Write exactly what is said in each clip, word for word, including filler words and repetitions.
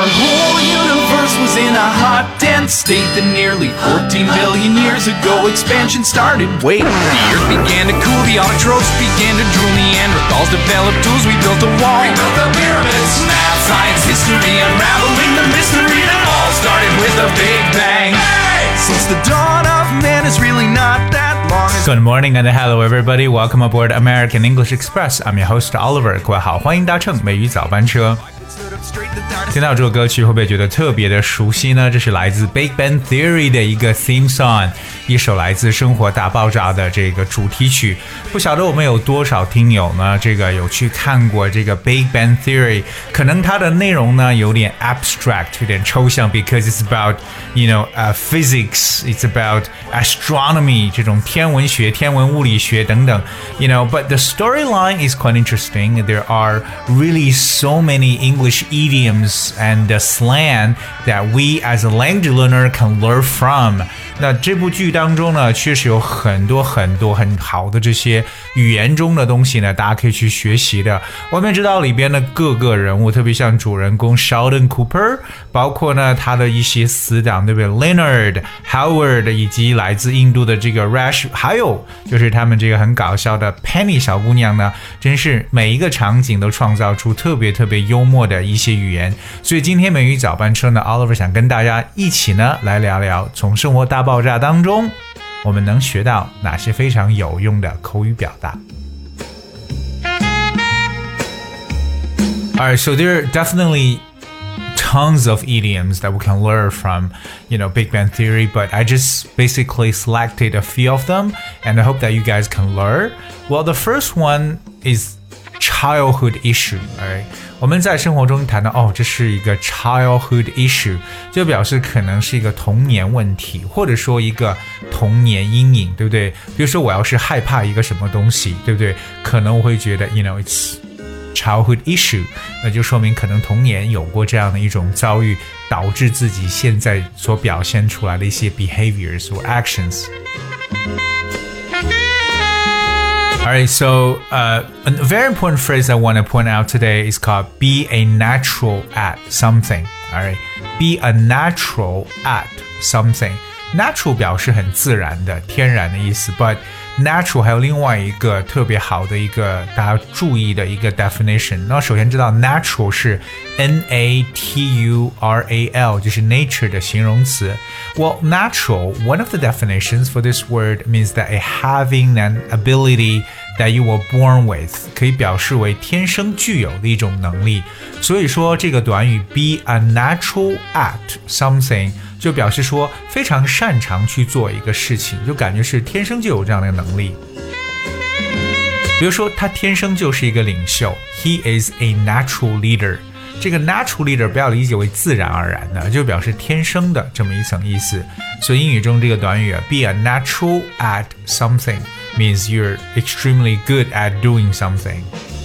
Our whole universe was in a hot, dense state that nearly fourteen billion years ago expansion started. Wait, the earth began to cool, the autotrophs began to drool, Neanderthals developed tools, we built a wall. We built the pyramids. Math, science, history, unraveling the mystery that all started with a big bang. Hey! Since the dawn of man is really not that long. Good morning and hello everybody. Welcome aboard American English Express. I'm your host Oliver. 各位好，欢迎搭乘美语早班车。听到这首歌曲会不会觉得特别的熟悉呢？这是来自 Big Bang Theory 的一个 theme song， 一首来自生活大爆炸的这个主题曲。不晓得我们有多少听友呢，这个有去看过这个 Big Bang Theory， 可能它的内容呢有点 abstract， 有点抽象 because it's about, you know, uh, physics, it's about astronomy 这种天文学、天文物理学等等 you know, but the storyline is quite interesting. There are really so many English idioms and uh, slang that we as a language learner can learn from. 那这部剧当中呢，确实有很多很多很好的这些语言中的东西呢，大家可以去学习的。我们知道里边的各个人物，特别像主人公 Sheldon Cooper， 包括呢他的一些死党，对不对 ？Leonard Howard 以及来自印度的这个 Rash， 还有就是他们这个很搞笑的 Penny 小姑娘呢，真是每一个场景都创造出特别特别幽默的一些语言。所以今天美语早班车呢 ，Oliver 想跟大家一起呢来聊聊，从生活大爆炸当中，我们能学到哪些非常有用的口语表达。Alright, so there are definitely tons of idioms that we can learn from, you know, Big Bang Theory, but I just basically selected a few of them, and I hope that you guys can learn. Well, the first one is childhood issue, alright? 我们在生活中谈到哦，这是一个 childhood issue， 就表示可能是一个童年问题，或者说一个童年阴影，对不对？比如说我要是害怕一个什么东西，对不对？可能我会觉得 you know it's childhood issue， 那就说明可能童年有过这样的一种遭遇，导致自己现在所表现出来的一些 behaviors or actions。Alright, so uh, a very important phrase I want to point out today is called be a natural at something. Alright, be a natural at something. Natural 表示很自然的、天然的意思 but natural 还有另外一个特别好的一个大家注意的一个 definition。那首先知道 natural 是 N A T U R A L， 就是 nature 的形容词。Well, natural, one of the definitions for this word means that a having an ability that you were born with 可以表示为天生具有的一种能力。所以说这个短语 be a natural at something就表示说非常擅长去做一个事情，就感觉是天生就有这样的能力。比如说他天生就是一个领袖 He is a natural leader。 这个 natural leader 不要理解为自然而然的，就表示天生的这么一层意思。所以英语中这个短语 be a natural at something means you're extremely good at doing something。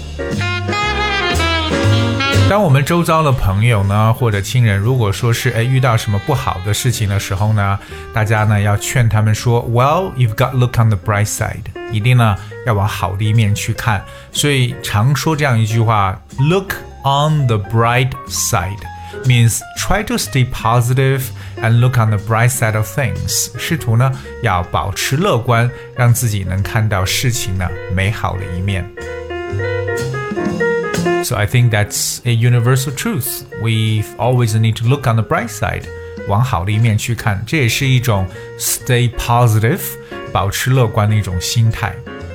当我们周遭的朋友呢，或者亲人，如果说是诶遇到什么不好的事情的时候呢，大家呢要劝他们说 Well, you've got to look on the bright side， 一定呢要往好的一面去看。所以常说这样一句话 Look on the bright side means try to stay positive and look on the bright side of things， 试图呢要保持乐观，让自己能看到事情呢美好的一面。So I think that's a universal truth. We always need to look on the bright side. 往好的一面去看，这也是一种 stay positive 保持乐观的一种心态。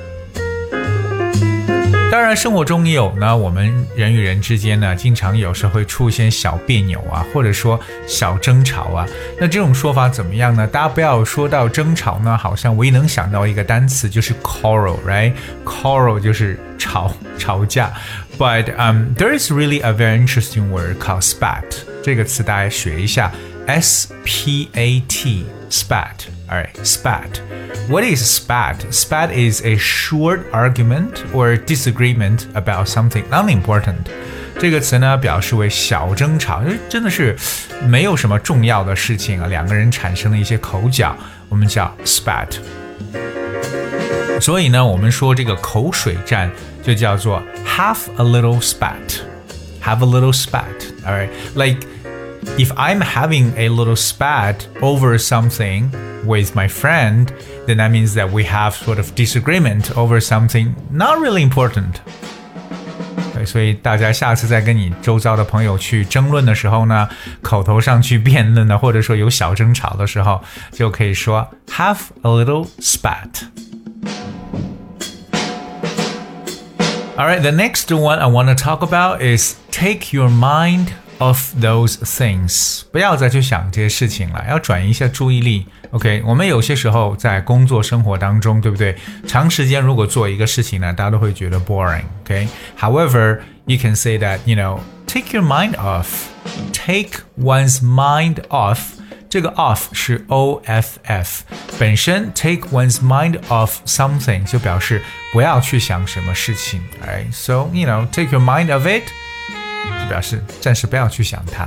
当然生活中也有呢，我们人与人之间呢经常有时候会出现小别扭啊，或者说小争吵啊。那这种说法怎么样呢？大家不要说到争吵呢，好像唯一能想到一个单词就是 quarrel, right? Quarrel 就是吵吵架。But um, there is really a very interesting word called spat. 这个词大家学一下 S P A T, spat. Alright, spat. What is spat? Spat is a short argument or disagreement about something unimportant. 这个词呢表示为小争吵，真的是没有什么重要的事情啊，两个人产生了一些口角，我们叫 spat。所以呢，我们说这个口水战就叫做 have a little spat. Have a little spat. Alright, like if I'm having a little spat over something with my friend, then that means that we have sort of disagreement over something not really important. 对，所以大家下次在跟你周遭的朋友去争论的时候呢，口头上去辩论呢，或者说有小争吵的时候，就可以说 have a little spat.Alright, the next one I want to talk about is take your mind off those things. 不要再去想这些事情了，要转移一下注意力。OK， 我们有些时候在工作生活当中，对不对？长时间如果做一个事情呢，大家都会觉得 boring. OK, however, you can say that, you know, take your mind off. Take one's mind off.这个 off 是 O F F 本身 take one's mind off something 就表示不要去想什么事情 right? So, you know, take your mind off it 就表示暂时不要去想它。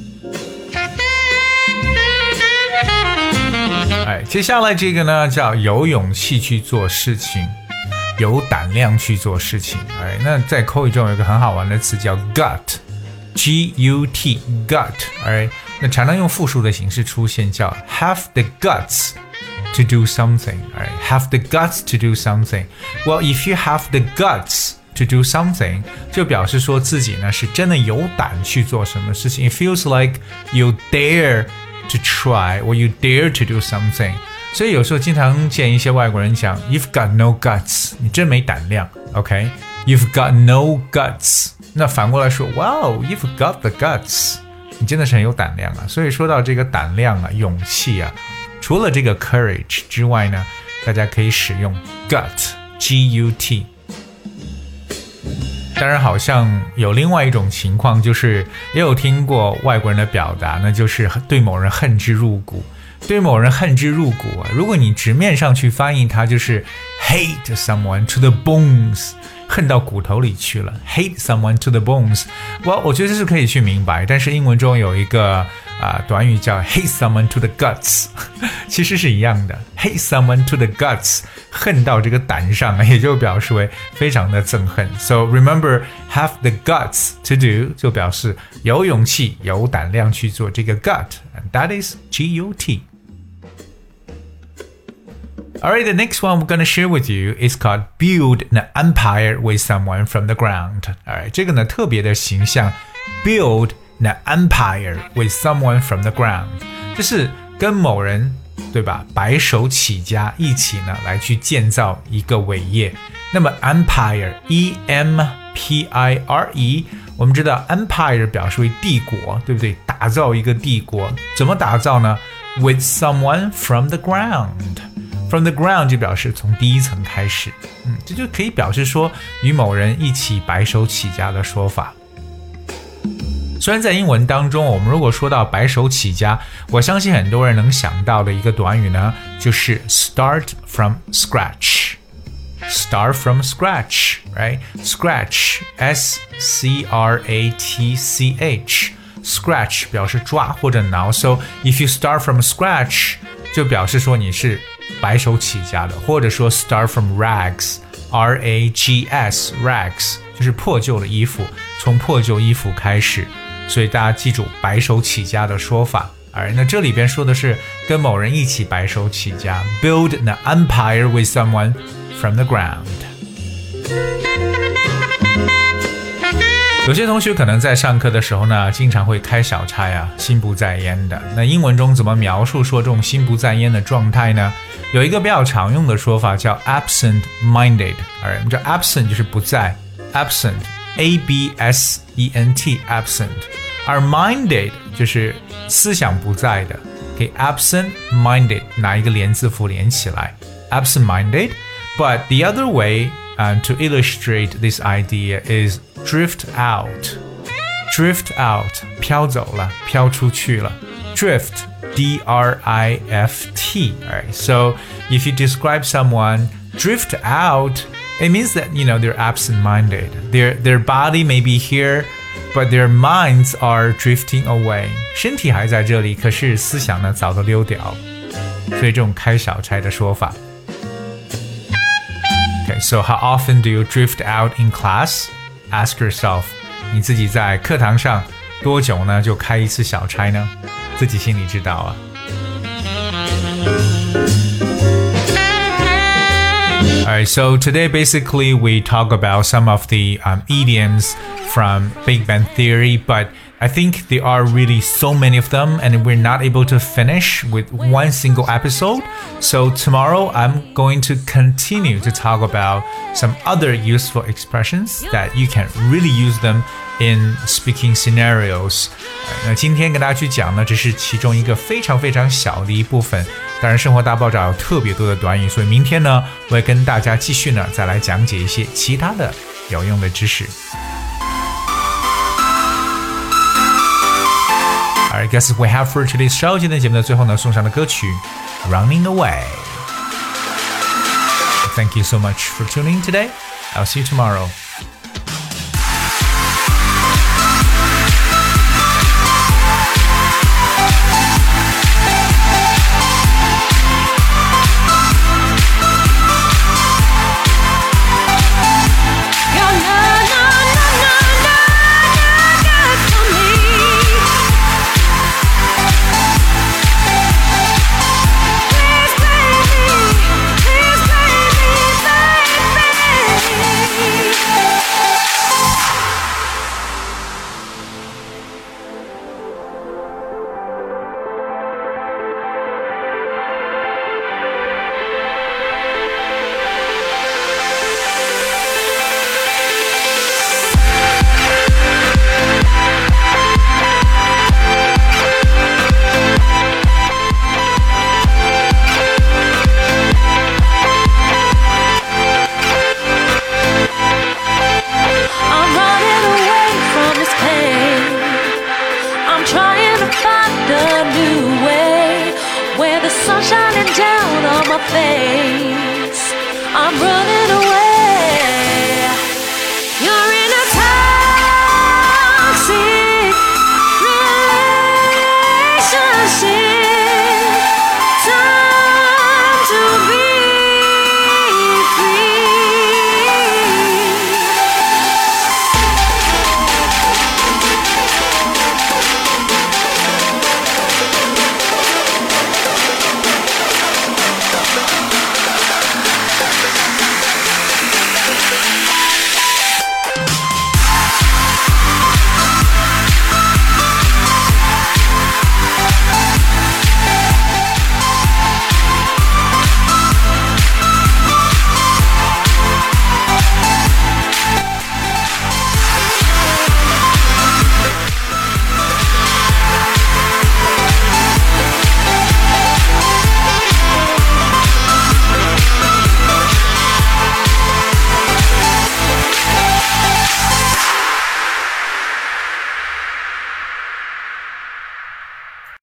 哎，接下来这个呢叫有勇气去做事情，有胆量去做事情。哎，那在口语中有一个很好玩的词叫 gut G U T gut alright 那常常用复数的形式出现叫 have the guts to do something alright have the guts to do something well if you have the guts to do something 就表示说自己呢是真的有胆去做什么事情 it feels like you dare to try or you dare to do something 所以有时候经常见一些外国人讲 you've got no guts 你真没胆量 OK you've got no guts那反过来说 Wow, you've got the guts 你真的是很有胆量啊所以说到这个胆量啊勇气啊除了这个 courage 之外呢大家可以使用 gut G U T 当然好像有另外一种情况就是也有听过外国人的表达那就是对某人恨之入骨对某人恨之入骨啊如果你直面上去翻译它就是 hate someone to the bones恨到骨头里去了 hate someone to the bones well, 我觉得这是可以去明白但是英文中有一个、呃、短语叫 hate someone to the guts 其实是一样的 hate someone to the guts 恨到这个胆上也就表示为非常的憎恨 so remember have the guts to do 就表示有勇气有胆量去做这个 gut and that is G U T Alright, the next one we're going to share with you is called build an empire with someone from the ground. Alright, 这个呢特别的形象 build an empire with someone from the ground. 就是跟某人对吧白手起家一起呢来去建造一个伟业。那么 empire E M P I R E 我们知道 empire 表示为帝国对不对打造一个帝国怎么打造呢 with someone from the ground.From the ground 就表示从第一层开始，嗯，这就可以表示说与某人一起白手起家的说法。虽然在英文当中，我们如果说到白手起家，我相信很多人能想到的一个短语呢，就是 start from scratch。Start from scratch, right? Scratch, S C R A T C H.Scratch 表示抓或者挠 So if you start from scratch 就表示说你是白手起家的或者说 start from rags R A G S rags 就是破旧的衣服从破旧衣服开始所以大家记住白手起家的说法而那这里边说的是跟某人一起白手起家 build an empire with someone from the ground有些同学可能在上课的时候呢经常会开小差啊心不在焉的那英文中怎么描述说这种心不在焉的状态呢有一个比较常用的说法叫 absent minded 而我们叫 absent 就是不在 absent A B S E N T absent 而 minded 就是思想不在的可以 absent minded 拿一个连字符连起来 absent minded but the other way、uh, to illustrate this idea is drift out drift out 飘走了飘出去了 drift D R I F T right? So if you describe someone drift out it means that you know they're absent-minded their, their body may be here but their minds are drifting away 身体还在这里可是思想呢早都溜掉所以这种开小差的说法 Okay, so how often do you drift out in class? Ask yourself 你自己在课堂上多久呢就开一次小差呢？自己心里知道啊。Alright, so today basically we talk about some of the um, idioms from Big Bang Theory, but I think there are really so many of them and we're not able to finish with one single episode. So tomorrow I'm going to continue to talk about some other useful expressions that you can really use them in speaking scenarios. 那今天跟大家去讲呢，这是其中一个非常非常小的一部分。当然，生活大爆炸有特别多的短语，所以明天呢，我会跟大家继续呢，再来讲解一些其他的有用的知识。Alright, guess we have for today's show. 今天节目的最后呢，送上的歌曲《Running Away》。Thank you so much for tuning in today. I'll see you tomorrow. Where the sun's shining down on my face, I'm running away.